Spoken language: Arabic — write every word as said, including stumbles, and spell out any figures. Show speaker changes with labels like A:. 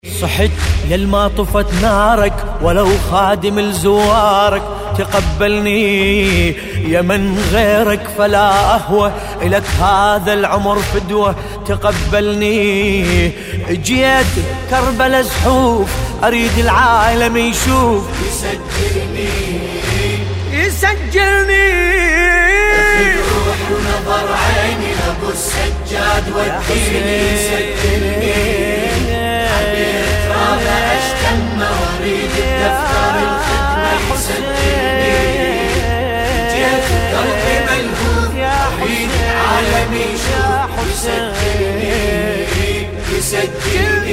A: صحت يلما طفت نارك ولو خادم لزوارك، تقبلني يا من غيرك فلا أهوى إلك هذا العمر فدوة. تقبلني جيت كربلا زحوف أريد العالم يشوف،
B: يسجلني
A: يسجلني
B: في روح ونظر عيني أبو السجاد وديني. يسجلني واريد الدفتر الختمة يسجلني. جيت قلبي ملهوف اريد العالم يشوف، يسجلني يسجلني